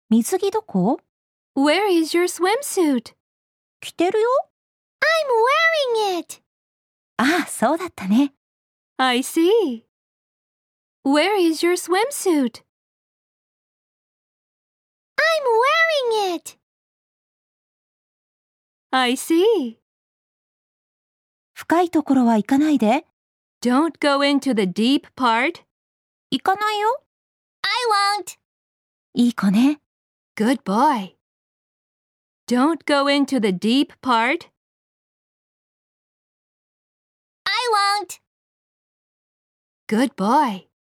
水着どこ？ Where is your swimsuit? 着てるよ。 I'm wearing it. ああ、そうだったね。 I see. Where is your swimsuit? I'm wearing it. I see. 深いところは行かないで。 Don't go into the deep part. 行かないよ。 I won't. いい子ね。 Good boy. Don't go into the deep part. I won't. Good boy.